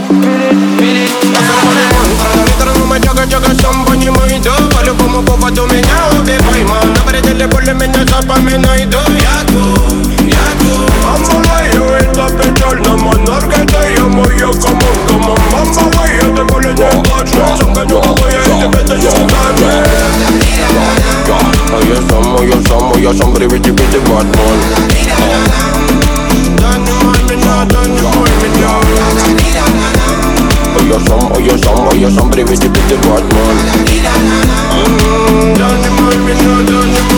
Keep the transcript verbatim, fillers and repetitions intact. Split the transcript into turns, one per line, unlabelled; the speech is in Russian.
По-любому поводу меня убивай, мам. На пределе боли меня запоминай, да я тут, я тут. Мама моя, это печально, монарка, да я моя, камон, камон. Мама моя, ты более не плачь, сам гоню головой, я тебе даю стами. А я сам, а я сам, а я сам, привет тебе, ты Батман. Да не мой меня, да не мой меня. А я сам, а я сам, а я сам, привет тебе, ты Батман. Don't you mind me, no, don't you